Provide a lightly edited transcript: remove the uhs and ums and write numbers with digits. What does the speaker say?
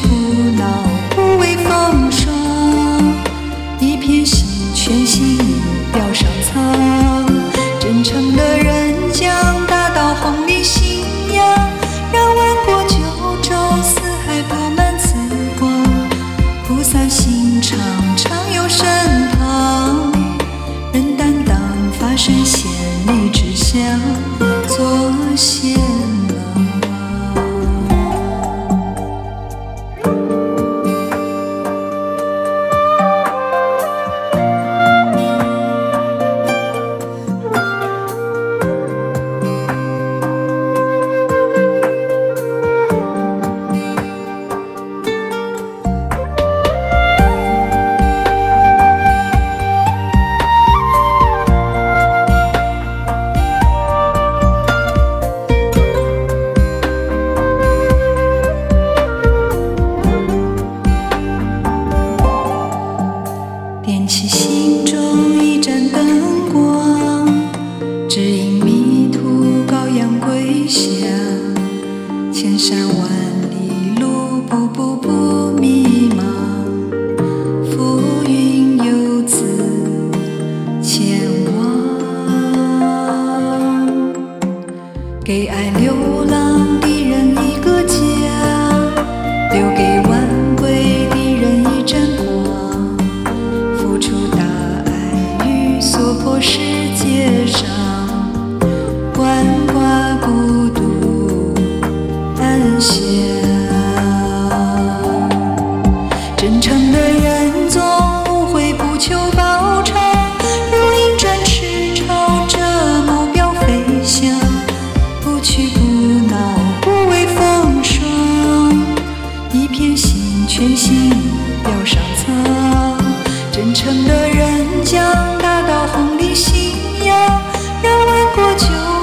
不恼，不畏风霜。一片心，全心意表上苍。真诚的人将大道弘礼信仰，让万国九州四海布满慈光。菩萨心肠，常有身旁，人担当发身献礼之香，做贤郎。点起心中一盏灯光，指引迷途羔羊归乡。千山万里路，步步不迷茫。浮云游子前往，给爱流浪的人一个家，留给晚归的人一盏光。付出大爱与所迫世界上，万挂孤独安详。真诚的人总无悔，不求报偿，如鹰展翅朝着目标飞翔。不屈不挠，不畏风霜，一片心，全心表上苍。真诚的人将大道弘礼信仰，让万国九